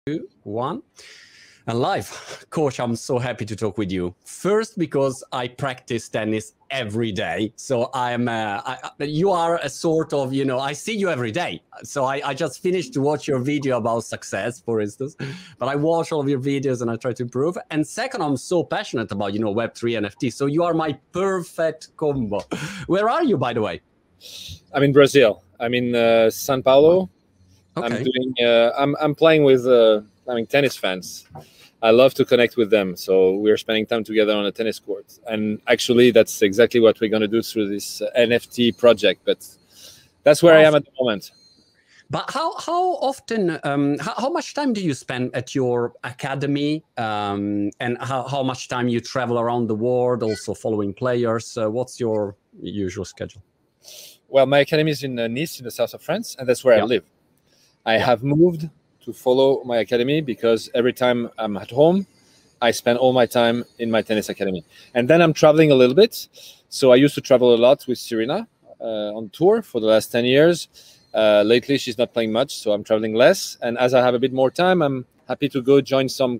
2, 1. And live. Coach, I'm so happy to talk with you. First, because I practice tennis every day. So you are a sort of, I see you every day. So I just finished to watch your video about success, for instance. But I watch all of your videos and I try to improve. And second, I'm so passionate about, Web3 NFT. So you are my perfect combo. Where are you, by the way? I'm in Brazil. I'm in São Paulo. Okay. I'm playing with tennis fans. I love to connect with them, so we're spending time together on a tennis court. And actually, that's exactly what we're going to do through this NFT project. But that's where I am at the moment. But how often, how much time do you spend at your academy, and how much time you travel around the world, also following players? What's your usual schedule? Well, my academy is in Nice, in the south of France, and that's where I live. I have moved to follow my academy because every time I'm at home, I spend all my time in my tennis academy. And then I'm traveling a little bit. So I used to travel a lot with Serena on tour for the last 10 years. Lately, she's not playing much, so I'm traveling less. And as I have a bit more time, I'm happy to go join some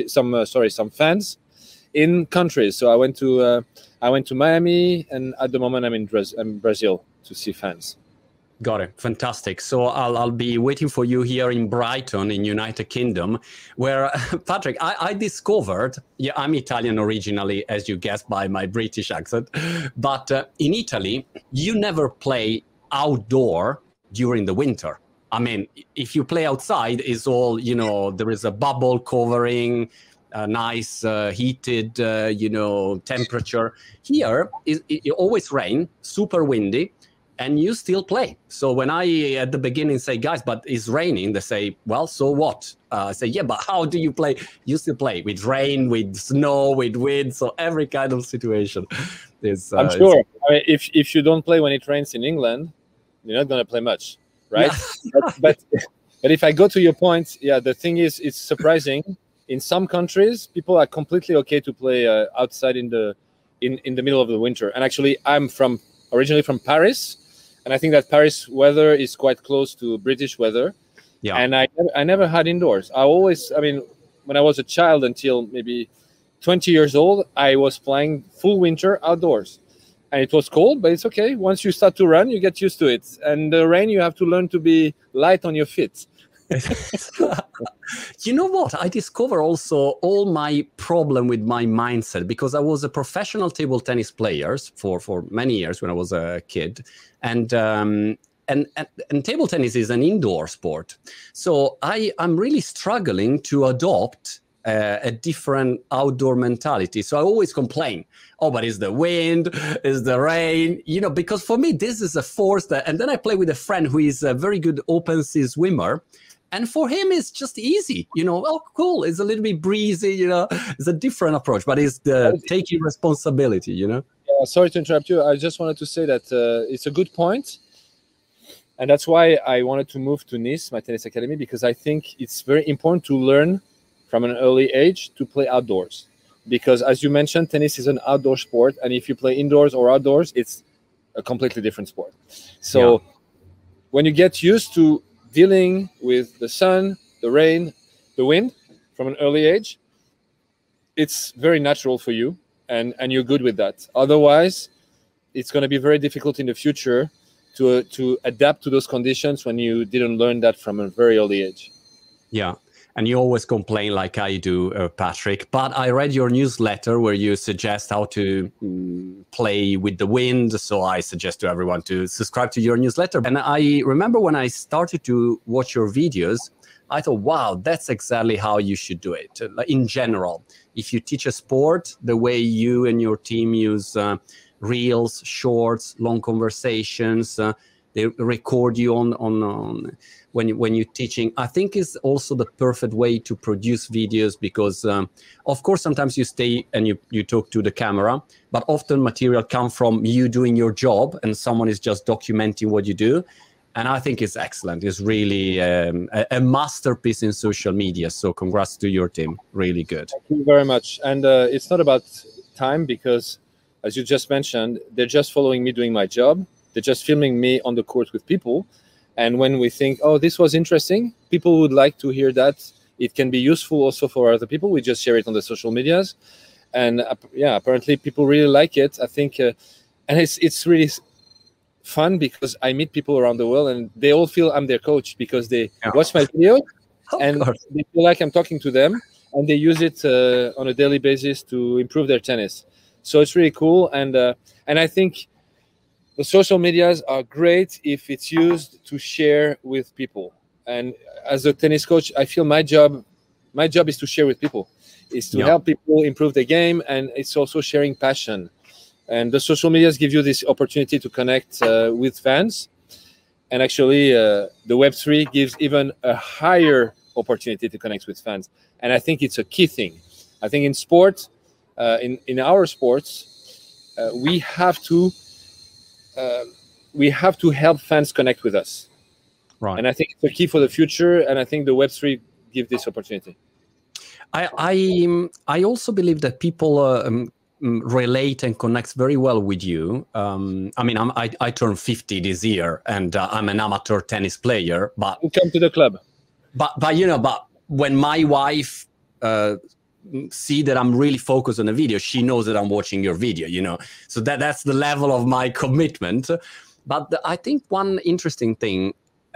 fans in countries. So I went to Miami, and at the moment I'm in Brazil to see fans. Got it. Fantastic. So I'll be waiting for you here in Brighton in United Kingdom, where, Patrick, I discovered, I'm Italian originally, as you guessed by my British accent, but in Italy, you never play outdoor during the winter. I mean, if you play outside, it's all, there is a bubble covering, a nice heated, temperature. Here, it always rain, super windy, and you still play. So when I, at the beginning, say, guys, but it's raining, they say, well, so what? I say, yeah, but how do you play? You still play with rain, with snow, with wind, so every kind of situation. I'm sure. I mean, if you don't play when it rains in England, you're not going to play much, right? Yeah. but if I go to your point, the thing is, it's surprising. In some countries, people are completely okay to play outside in the middle of the winter. And actually, I'm originally from Paris. And I think that Paris weather is quite close to British weather. Yeah. And I never had indoors. When I was a child until maybe 20 years old, I was playing full winter outdoors. And it was cold, but it's okay. Once you start to run, you get used to it. And the rain, you have to learn to be light on your feet. You know what? I discover also all my problem with my mindset, because I was a professional table tennis player for many years when I was a kid, and table tennis is an indoor sport. So I'm really struggling to adopt a different outdoor mentality. So I always complain, but it's the wind, it's the rain, because for me, this is a force and then I play with a friend who is a very good open sea swimmer. And for him, it's just easy, cool. It's a little bit breezy, it's a different approach, but it's the taking responsibility, Yeah, sorry to interrupt you. I just wanted to say that it's a good point. And that's why I wanted to move to Nice, my tennis academy, because I think it's very important to learn from an early age to play outdoors. Because as you mentioned, tennis is an outdoor sport. And if you play indoors or outdoors, it's a completely different sport. So when you get used to dealing with the sun, the rain, the wind from an early age, it's very natural for you and you're good with that. Otherwise, it's going to be very difficult in the future to adapt to those conditions when you didn't learn that from a very early age. Yeah. And you always complain like I do, Patrick. But I read your newsletter where you suggest how to play with the wind. So I suggest to everyone to subscribe to your newsletter. And I remember when I started to watch your videos, I thought, wow, that's exactly how you should do it. In general, if you teach a sport, the way you and your team use reels, shorts, long conversations, they record you on when you're teaching. I think is also the perfect way to produce videos because, of course, sometimes you stay and you talk to the camera, but often material comes from you doing your job and someone is just documenting what you do. And I think it's excellent. It's really a masterpiece in social media. So congrats to your team. Really good. Thank you very much. And it's not about time because, as you just mentioned, they're just following me doing my job. They're just filming me on the court with people. And when we think, oh, this was interesting, people would like to hear that it can be useful also for other people. We just share it on the social medias, and yeah, apparently people really like it. I think, and it's really fun because I meet people around the world and they all feel I'm their coach because they watch my video and they feel like I'm talking to them, and they use it on a daily basis to improve their tennis. So it's really cool, and I think the social medias are great if it's used to share with people. And as a tennis coach, I feel my job is to share with people, is to help people improve the game, and it's also sharing passion. And the social medias give you this opportunity to connect with fans. And actually, the Web3 gives even a higher opportunity to connect with fans. And I think it's a key thing. I think in sport, in our sports, we have to help fans connect with us. Right. And I think it's a key for the future. And I think the Web3 gives this opportunity. I also believe that people relate and connects very well with you. I mean, I turned 50 this year, and I'm an amateur tennis player. But come to the club. But you know, but when my wife see that I'm really focused on the video, she knows that I'm watching your video. You know, so that's the level of my commitment. But I think one interesting thing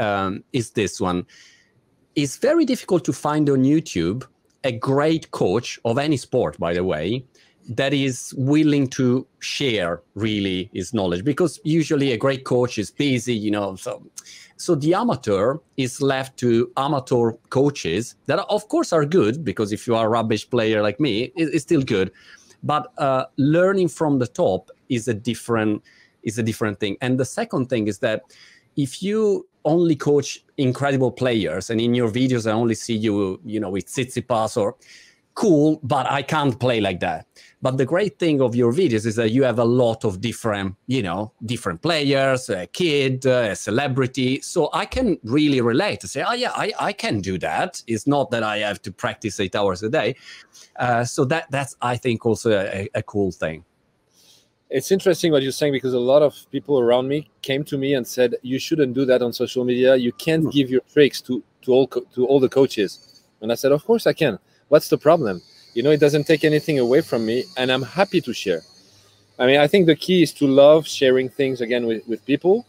is this one. It's very difficult to find on YouTube a great coach of any sport, by the way, that is willing to share really his knowledge, because usually a great coach is busy, you know. So the amateur is left to amateur coaches that of course are good, because if you are a rubbish player like me, it's still good. But learning from the top is a different thing. And the second thing is that if you only coach incredible players, and in your videos I only see you, you know, with Tsitsipas or cool, but I can't play like that. But the great thing of your videos is that you have a lot of different, you know, different players, a kid, a celebrity. So I can really relate to say, oh yeah, I can do that. It's not that I have to practice 8 hours a day. So that's, I think, also a cool thing. It's interesting what you're saying, because a lot of people around me came to me and said, you shouldn't do that on social media. You can't give your tricks to all the coaches. And I said, of course I can. What's the problem? You know, it doesn't take anything away from me, and I'm happy to share. I mean, I think the key is to love sharing things again with people.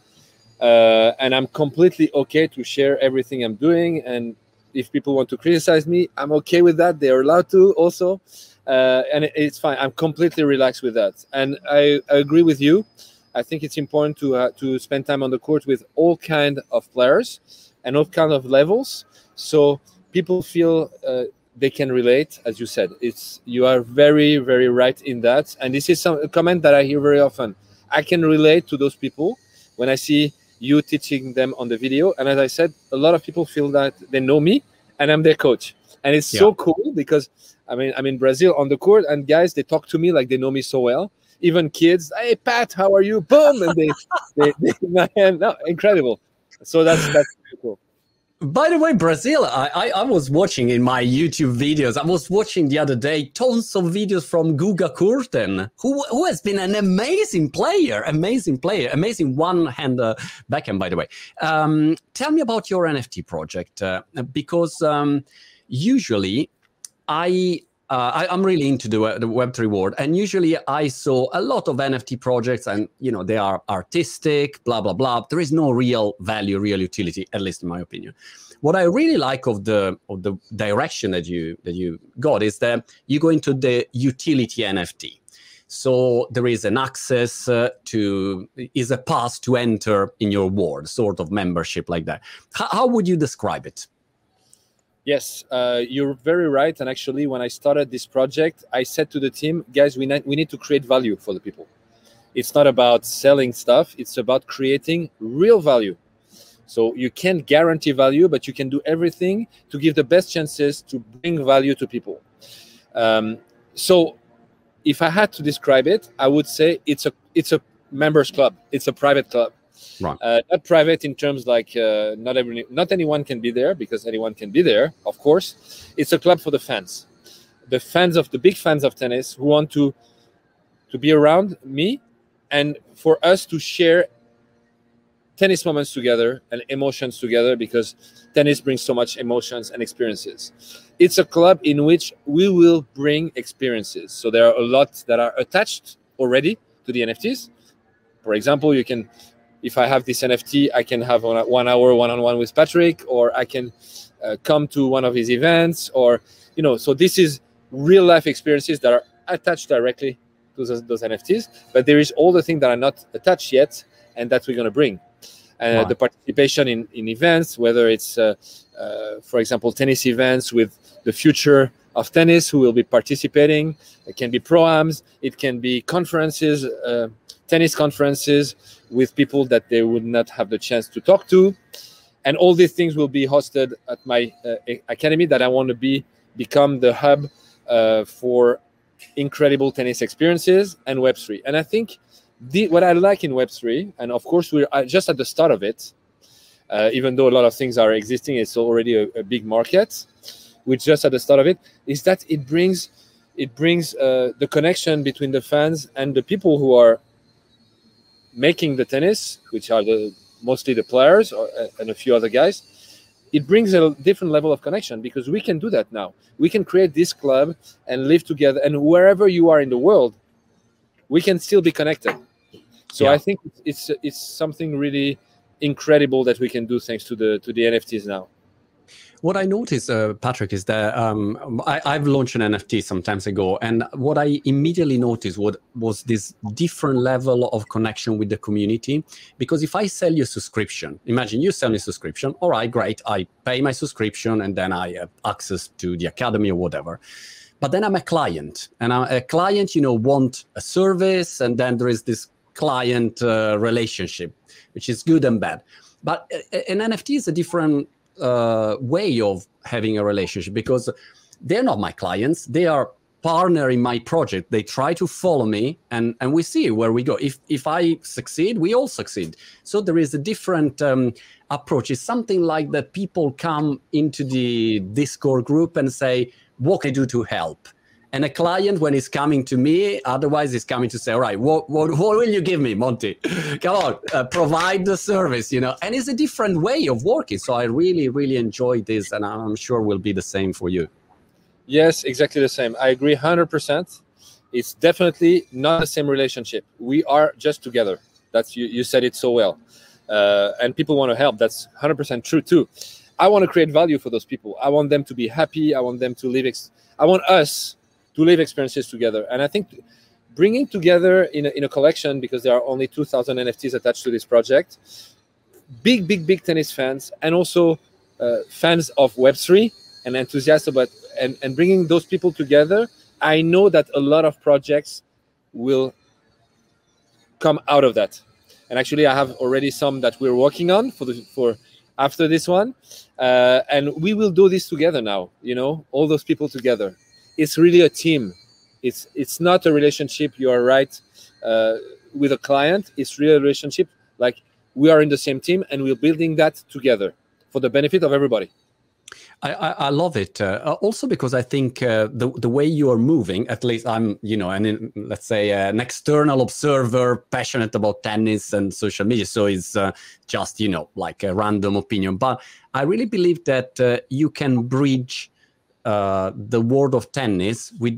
And I'm completely okay to share everything I'm doing. And if people want to criticize me, I'm okay with that. They are allowed to also. And it's fine. I'm completely relaxed with that. And I agree with you. I think it's important to spend time on the court with all kind of players and all kind of levels, so people feel they can relate. As you said, you are very, very right in that. And this is a comment that I hear very often. I can relate to those people when I see you teaching them on the video. And as I said, a lot of people feel that they know me and I'm their coach. And it's so cool, because I mean, I'm in Brazil on the court, and guys, they talk to me like they know me so well. Even kids, hey Pat, how are you? Boom, and they my hand. No, incredible. So that's really cool. By the way, Brazil, I was watching in my YouTube videos. I was watching the other day tons of videos from Guga Kurten, who has been an amazing player, amazing one-hand backhand, by the way. Tell me about your NFT project, because usually I'm really into the Web3 world, and usually I saw a lot of NFT projects, and you know, they are artistic, blah blah blah. There is no real value, real utility, at least in my opinion. What I really like of the direction that you got is that you go into the utility NFT. So there is an access is a pass to enter in your world, sort of membership like that. How would you describe it? Yes, you're very right. And actually, when I started this project, I said to the team, guys, we need to create value for the people. It's not about selling stuff. It's about creating real value. So you can't guarantee value, but you can do everything to give the best chances to bring value to people. So if I had to describe it, I would say it's a members club. It's a private club. Right. Not private in terms like not anyone can be there, because anyone can be there, of course. It's a club for the fans, the big fans of tennis, who want to be around me, and for us to share tennis moments together and emotions together, because tennis brings so much emotions and experiences. It's a club in which we will bring experiences. So there are a lot that are attached already to the NFTs. For example, you can, if I have this NFT, I can have 1 hour one-on-one with Patrick, or I can come to one of his events, or, you know, so this is real life experiences that are attached directly to those NFTs. But there is all the things that are not attached yet, and that we're going to bring. Right. The participation in events, whether it's, for example, tennis events with the future of tennis who will be participating. It can be pro-ams, it can be conferences, tennis conferences with people that they would not have the chance to talk to. And all these things will be hosted at my academy that I want to become the hub for incredible tennis experiences and Web3. And I think what I like in Web3, and of course we're just at the start of it, even though a lot of things are existing, it's already a big market. We're just at the start of it, is that it brings the connection between the fans and the people who are making the tennis, which are mostly the players and a few other guys. It brings a different level of connection, because we can do that now. We can create this club and live together, and wherever you are in the world, we can still be connected. So yeah. I think it's something really incredible that we can do thanks to the NFTs now. What I noticed, Patrick, is that I've launched an NFT some time ago, and what I immediately noticed was this different level of connection with the community. Because if I sell you a subscription, imagine you sell me a subscription, all right, great, I pay my subscription, and then I have access to the academy or whatever. But then I'm a client, and a client, want a service, and then there is this client relationship, which is good and bad. But an NFT is a different way of having a relationship, because they're not my clients, they are partner in my project. They try to follow me, and we see where we go. If I succeed, we all succeed. So there is a different approach. It's something like that people come into the Discord group and say, what can I do to help? And a client, when he's coming to me, otherwise he's coming to say, all right, what will you give me, Monty? Come on, provide the service, And it's a different way of working. So I really, really enjoy this, and I'm sure will be the same for you. Yes, exactly the same. I agree 100%. It's definitely not the same relationship. We are just together. That's you said it so well. And people want to help. That's 100% true too. I want to create value for those people. I want them to be happy. I want them to live. I want us to live experiences together. And I think bringing together in a collection, because there are only 2,000 NFTs attached to this project, big tennis fans, and also fans of Web3 and enthusiasts about, and bringing those people together, I know that a lot of projects will come out of that. And actually, I have already some that we're working on for after this one, and we will do this together now. All those people together. It's really a team. It's not a relationship. You are right, with a client. It's really a relationship. Like, we are in the same team, and we're building that together for the benefit of everybody. I love it. Also because I think the way you are moving, at least I'm, let's say an external observer, passionate about tennis and social media. So it's just, like a random opinion. But I really believe that you can bridge the world of tennis with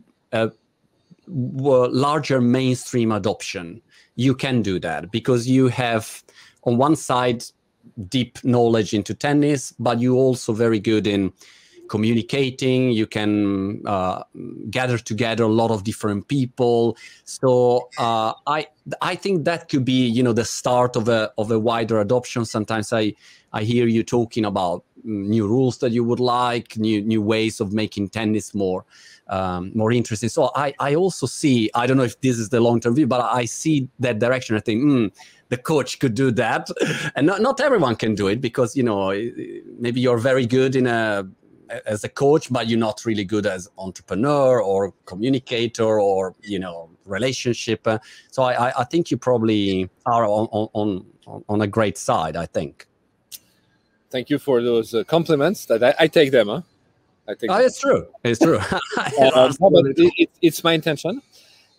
larger mainstream adoption. You can do that because you have, on one side, deep knowledge into tennis, but you're also very good in communicating. You can gather together a lot of different people. So I think that could be, the start of a wider adoption. Sometimes I hear you talking about new rules that you would like, new ways of making tennis more interesting. So I also see, I don't know if this is the long-term view, but I see that direction. I think, the coach could do that. And not everyone can do it, because, maybe you're very good as a coach, but you're not really good as entrepreneur or communicator or, relationship. So I think you probably are on a great side, I think. Thank you for those compliments. That I take them. Huh? I take. It's true. It's true. It's my intention.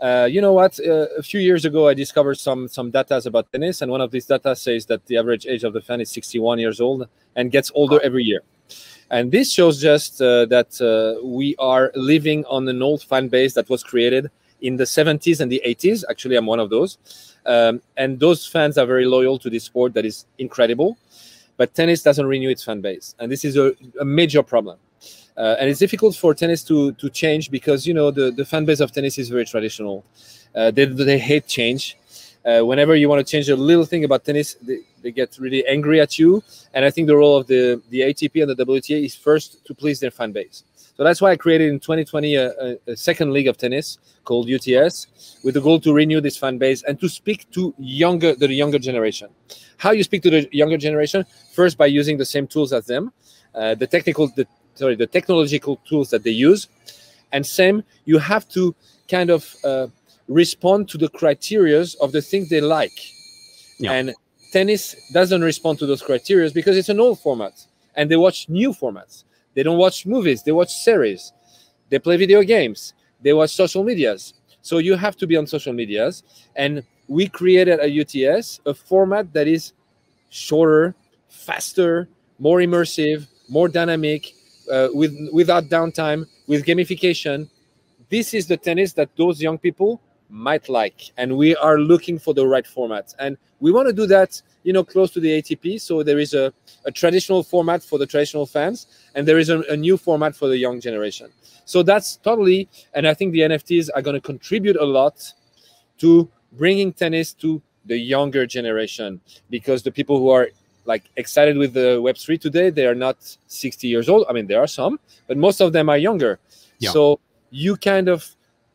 You know what? A few years ago, I discovered some data about tennis, and one of these data says that the average age of the fan is 61 years old and gets older every year. And this shows just that we are living on an old fan base that was created in the 70s and the 80s. Actually, I'm one of those. And those fans are very loyal to this sport that is incredible. But tennis doesn't renew its fan base. And this is a major problem. And it's difficult for tennis to change because, you know, the fan base of tennis is very traditional. They hate change. Whenever you want to change a little thing about tennis, they get really angry at you. And I think the role of the ATP and the WTA is first to please their fan base. So that's why I created in 2020 a second league of tennis called UTS with the goal to renew this fan base and to speak to the younger generation. How you speak to the younger generation? First, by using the same tools as them, the technological tools that they use. And same, you have to kind of respond to the criteria of the things they like. Yeah. And tennis doesn't respond to those criteria because it's an old format and they watch new formats. They don't watch movies, they watch series, they play video games, they watch social medias. So you have to be on social medias. And we created a UTS, a format that is shorter, faster, more immersive, more dynamic, without downtime, with gamification. This is the tennis that those young people might like, and we are looking for the right format. And we want to do that, you know, close to the ATP. So there is a traditional format for the traditional fans, and there is a new format for the young generation. So that's totally, and I think the NFTs are going to contribute a lot to bringing tennis to the younger generation, because the people who are like excited with the Web3 today, they are not 60 years old. I mean, there are some, but most of them are younger. Yeah. So you kind of,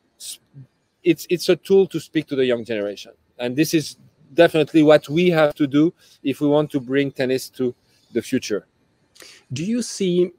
it's a tool to speak to the young generation. And this is definitely what we have to do if we want to bring tennis to the future. Do you see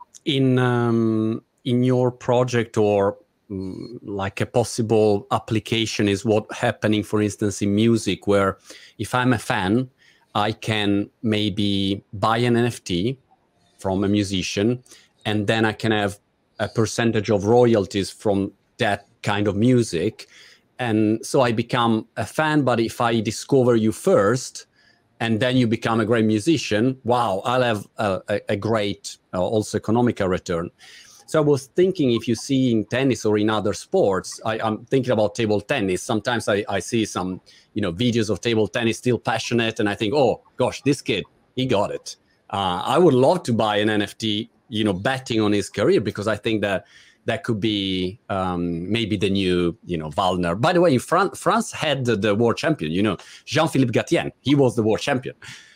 in your project or like a possible application is what happening, for instance, in music, where if I'm a fan, I can maybe buy an NFT from a musician, and then I can have a percentage of royalties from that kind of music. And so I become a fan, but if I discover you first, and then you become a great musician, wow, I'll have a great also economical return. So I was thinking, if you see in tennis or in other sports, I'm thinking about table tennis. Sometimes I see some, you know, videos of table tennis, still passionate, and I think, oh gosh, this kid, he got it. I would love to buy an NFT, you know, betting on his career, because I think that could be maybe the new, you know, Waldner. By the way, France had the world champion, you know, Jean-Philippe Gatien. He was the world champion.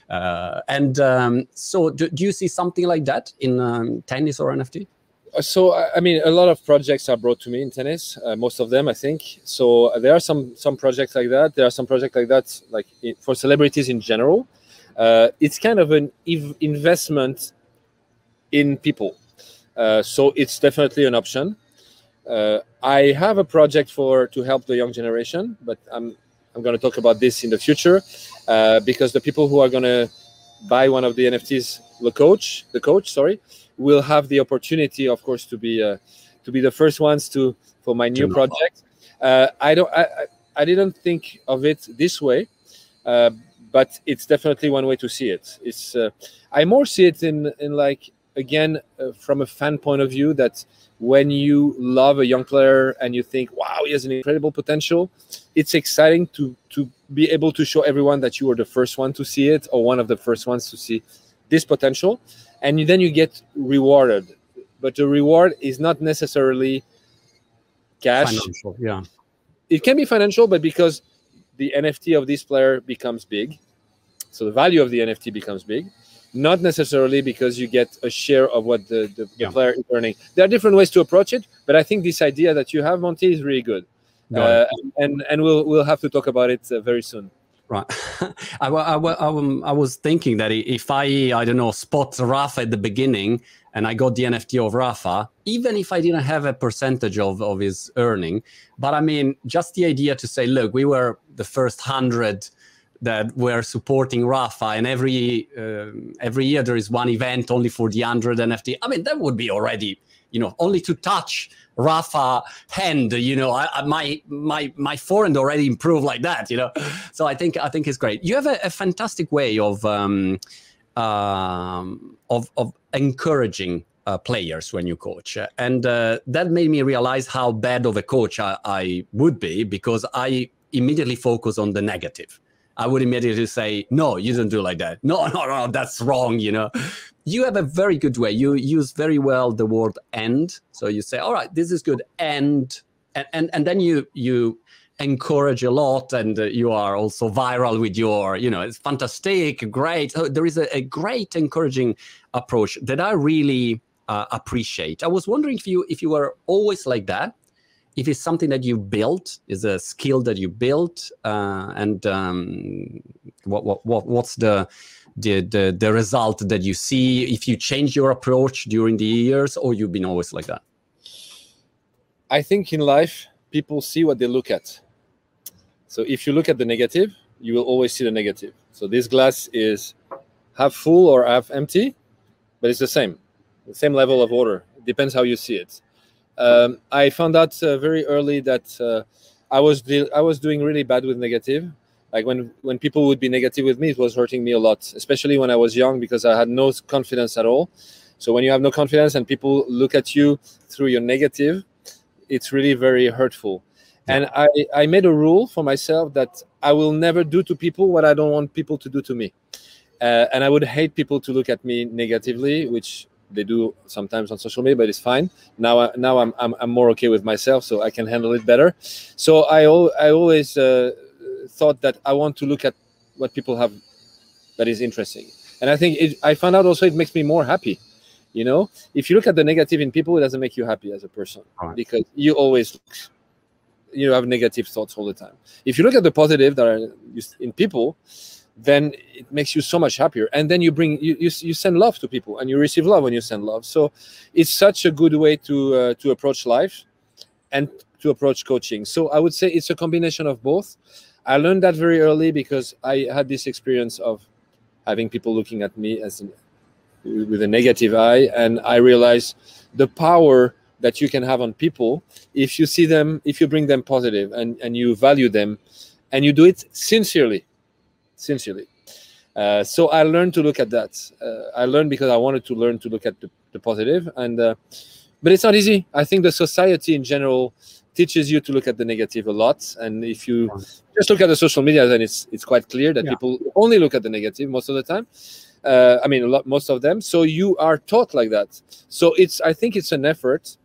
So do you see something like that in tennis or NFT? So, I mean, a lot of projects are brought to me in tennis, most of them, I think. So there are some projects like that. There are some projects like that, like for celebrities in general. It's kind of an investment in people. So it's definitely an option. I have a project to help the young generation, but I'm going to talk about this in the future, because the people who are going to buy one of the NFTs, the coach, will have the opportunity, of course, to be the first ones for my new project. I didn't think of it this way, but it's definitely one way to see it. It's I more see it in like, again, from a fan point of view, that when you love a young player and you think, wow, he has an incredible potential, it's exciting to be able to show everyone that you were the first one to see it, or one of the first ones to see this potential. And then you get rewarded. But the reward is not necessarily cash. Financial, yeah. It can be financial, but because the NFT of this player becomes big, so the value of the NFT becomes big, not necessarily because you get a share of what the player is earning. There are different ways to approach it, but I think this idea that you have, Monty, is really good. And we'll have to talk about it very soon. Right. I was thinking that if I don't know, spot Rafa at the beginning and I got the NFT of Rafa, even if I didn't have a percentage of his earning, but I mean, just the idea to say, look, we were the first 100 that were supporting Rafa, and every year there is one event only for the 100 NFT. I mean, that would be already, only to touch Rafa hand, my forehand already improved like that, So I think it's great. You have a fantastic way of encouraging players when you coach, and that made me realize how bad of a coach I would be, because I immediately focus on the negative. I would immediately say, no, you don't do like that. No, that's wrong, You have a very good way. You use very well the word "and." So you say, all right, this is good. And then you encourage a lot, and you are also viral with your, it's fantastic, great. So there is a great encouraging approach that I really appreciate. I was wondering if you were always like that, if it's something that you built, is a skill that you built, and what's the result that you see, if you change your approach during the years, or you've been always like that? I think in life, people see what they look at. So if you look at the negative, you will always see the negative. So this glass is half full or half empty, but it's the same level of water. It depends how you see it. I found out very early that I was doing really bad with negative. Like when people would be negative with me, it was hurting me a lot, especially when I was young, because I had no confidence at all. So when you have no confidence and people look at you through your negative, it's really very hurtful. And I made a rule for myself that I will never do to people what I don't want people to do to me. And I would hate people to look at me negatively, which they do sometimes on social media, but it's fine. Now I'm more okay with myself, so I can handle it better. So I always thought that I want to look at what people have that is interesting. And I think I found out also it makes me more happy. If you look at the negative in people, it doesn't make you happy as a person, because you always have negative thoughts all the time. If you look at the positive that are in people, then it makes you so much happier. And then you send love to people, and you receive love when you send love. So it's such a good way to approach life and to approach coaching. So I would say it's a combination of both. I learned that very early because I had this experience of having people looking at me with a negative eye, and I realized the power that you can have on people if you see them, if you bring them positive and you value them, and you do it sincerely. So I learned to look at that. I learned because I wanted to learn to look at the positive, but it's not easy. I think the society in general teaches you to look at the negative a lot, and if you just look at the social media, then it's quite clear that people only look at the negative most of the time. Most of them. So you are taught like that. So I think it's an effort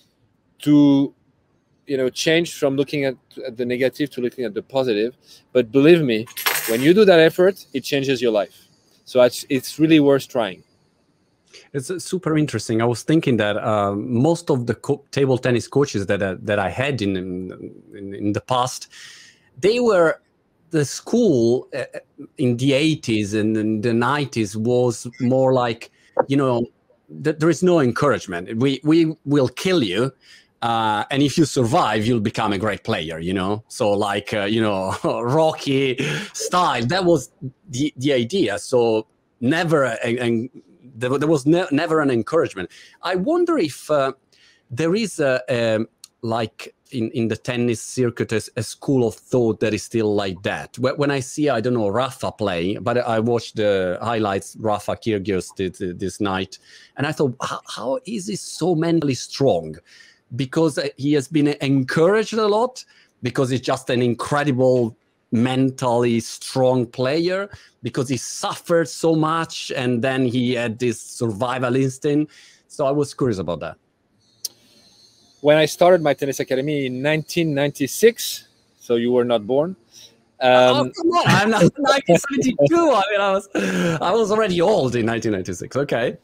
to change from looking at the negative to looking at the positive. But believe me, when you do that effort, it changes your life. So it's really worth trying. It's super interesting. I was thinking that most of the table tennis coaches that I had in the past, they were the school in the 80s and in the 90s was more like, there is no encouragement. We will kill you. And if you survive, you'll become a great player, So like, Rocky style, that was the idea. So never, there was never an encouragement. I wonder if there is like in the tennis circuit, a school of thought that is still like that. When I see, I don't know, Rafa play, but I watched the highlights Rafa Kyrgios did this night, and I thought, how is he so mentally strong? Because he has been encouraged a lot, because he's just an incredible mentally strong player, because he suffered so much and then he had this survival instinct. So I was curious about that. When I started my tennis academy in 1996, so you were not born. Come on, I'm not 1972. I was already old in 1996. Okay.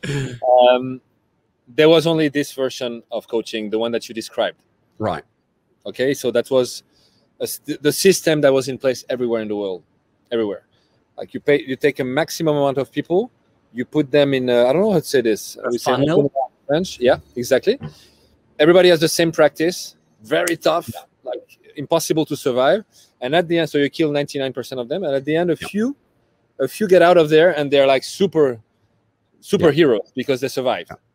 There was only this version of coaching, the one that you described. Right. Okay, so that was the system that was in place everywhere in the world, everywhere. Like you take a maximum amount of people, you put them in. I don't know how to say this. We say French. Yeah, exactly. Everybody has the same practice, very tough, like impossible to survive. And at the end, so you kill 99% of them, and at the end, a few get out of there, and they're like superheroes because they survived.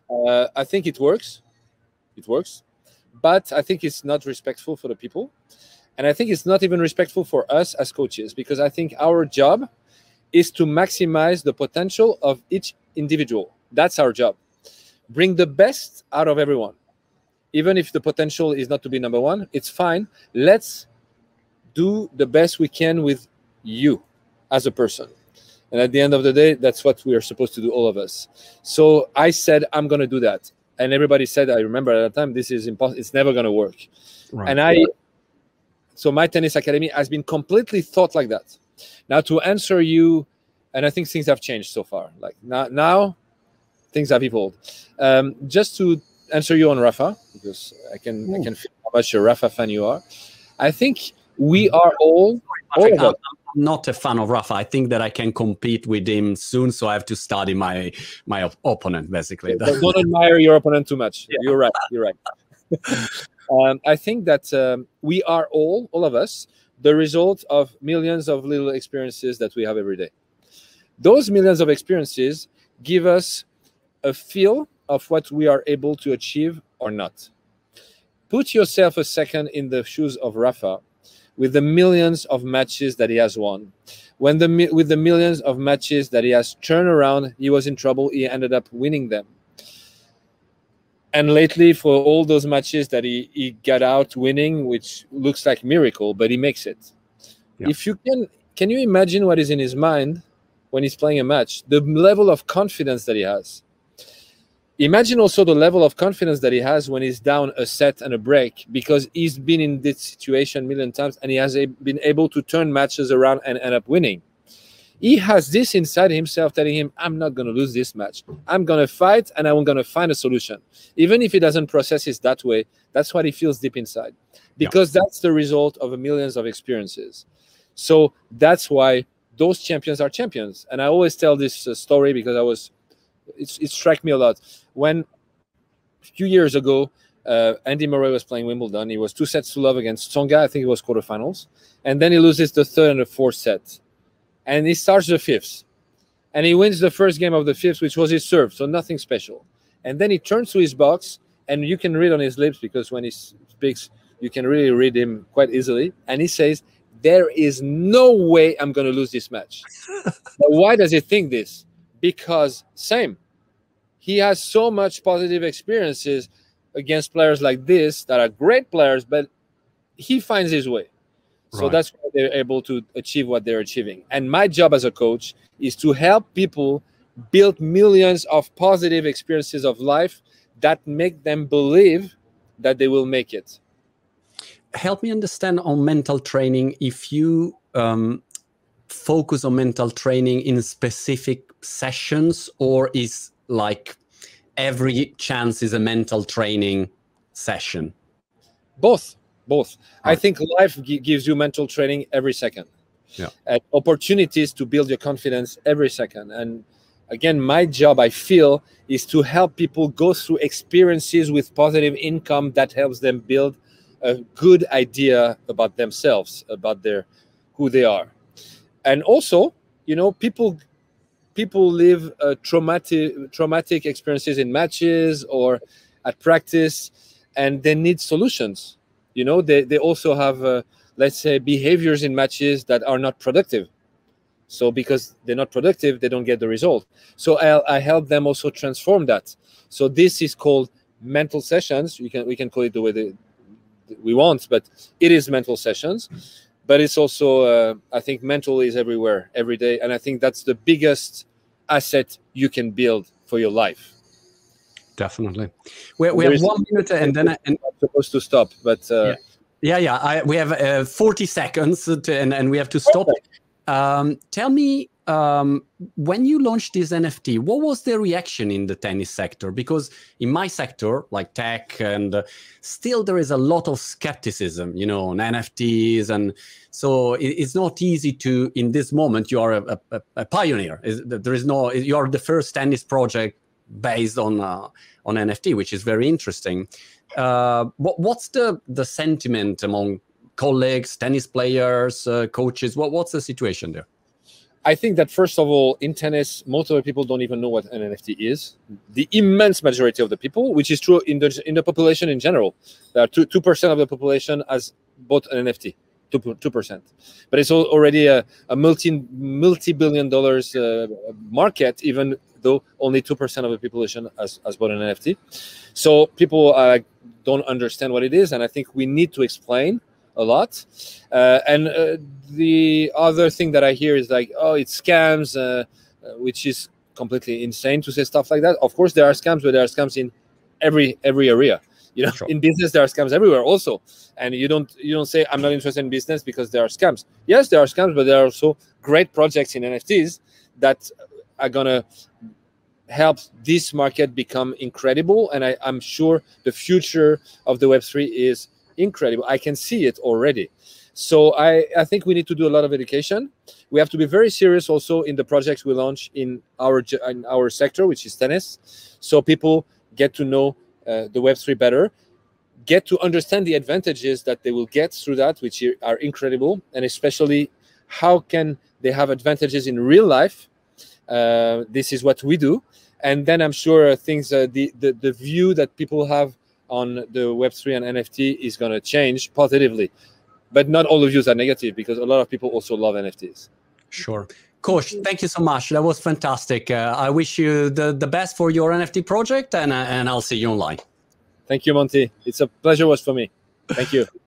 I think it works. It works. But I think it's not respectful for the people. And I think it's not even respectful for us as coaches, because I think our job is to maximize the potential of each individual. That's our job. Bring the best out of everyone. Even if the potential is not to be number one, it's fine. Let's do the best we can with you as a person. And at the end of the day, that's what we are supposed to do, all of us. So I said, I'm going to do that. And everybody said, I remember at the time, this is impossible. It's never going to work. Right. And so my tennis academy has been completely thought like that. Now to answer you, and I think things have changed so far. Like now things have evolved. Just to answer you on Rafa, because I can feel how much a Rafa fan you are. I think we are all Patrick, I'm not a fan of Rafa. I think that I can compete with him soon, so I have to study my opponent, basically. Don't admire your opponent too much. Yeah. You're right. You're right. I think that we are all of us, the result of millions of little experiences that we have every day. Those millions of experiences give us a feel of what we are able to achieve or not. Put yourself a second in the shoes of Rafa with the millions of matches that he has won. With the millions of matches that he has turned around, he was in trouble, he ended up winning them. And lately, for all those matches that he got out winning, which looks like a miracle, but he makes it. Yeah. If you can you imagine what is in his mind when he's playing a match? The level of confidence that he has. Imagine also the level of confidence that he has when he's down a set and a break, because he's been in this situation a million times and he has been able to turn matches around and end up winning. He has this inside himself telling him, I'm not going to lose this match. I'm going to fight and I'm going to find a solution. Even if he doesn't process it that way, that's what he feels deep inside, because that's the result of millions of experiences. So that's why those champions are champions. And I always tell this story because it struck me a lot. When a few years ago, Andy Murray was playing Wimbledon, he was 2-0 against Tsonga. I think it was quarterfinals. And then he loses the third and the fourth set. And he starts the fifth. And he wins the first game of the fifth, which was his serve, so nothing special. And then he turns to his box, and you can read on his lips, because when he speaks, you can really read him quite easily. And he says, there is no way I'm going to lose this match. But why does he think this? Because he has so much positive experiences against players like this that are great players, but he finds his way. So that's why they're able to achieve what they're achieving. And my job as a coach is to help people build millions of positive experiences of life that make them believe that they will make it. Help me understand on mental training. If you focus on mental training in specific sessions, or is like every chance is a mental training session? Both. I think life gives you mental training every second. Yeah. And opportunities to build your confidence every second. And again, my job, I feel, is to help people go through experiences with positive income that helps them build a good idea about themselves, about who they are. And also, people live traumatic experiences in matches or at practice, and they need solutions. They also have, let's say, behaviors in matches that are not productive. So because they're not productive, they don't get the result. So I help them also transform that. So this is called mental sessions. We can call it the way we want, but it is mental sessions. But it's also, I think mental is everywhere, every day. And I think that's the biggest asset you can build for your life. Definitely. We have 1 minute and then I'm supposed to stop, but we have 40 seconds and we have to stop. Tell me, when you launched this NFT, what was the reaction in the tennis sector? Because in my sector, like tech, and still there is a lot of skepticism, on NFTs, and so it's not easy to. In this moment, you are a pioneer. You are the first tennis project based on NFT, which is very interesting. What's the sentiment among colleagues, tennis players, coaches? What's the situation there? I think that first of all, in tennis, most of the people don't even know what an NFT is. The immense majority of the people, which is true in the population in general, there are 2% of the population has bought an NFT, 2%. But it's already a multi-billion dollars market, even though only 2% of the population has bought an NFT. So people don't understand what it is, and I think we need to explain a lot. The other thing that I hear is like, oh, it's scams, which is completely insane to say stuff like that. Of course, there are scams, but there are scams in every area. You know, Sure. In business, there are scams everywhere also. And you don't say, I'm not interested in business because there are scams. Yes, there are scams, but there are also great projects in NFTs that are going to help this market become incredible. And I'm sure the future of the Web3 is incredible. I can see it already. So I think we need to do a lot of education. We have to be very serious also in the projects we launch in our sector, which is tennis. So people get to know the Web3 better, get to understand the advantages that they will get through that, which are incredible, and especially how can they have advantages in real life. This is what we do. And then I'm sure things, the view that people have on the Web3 and NFT is going to change positively. But not all the views are negative, because a lot of people also love NFTs. Sure. Kosh, thank you so much. That was fantastic. I wish you the best for your NFT project, and I'll see you online. Thank you, Monty. It's a pleasure was for me. Thank you.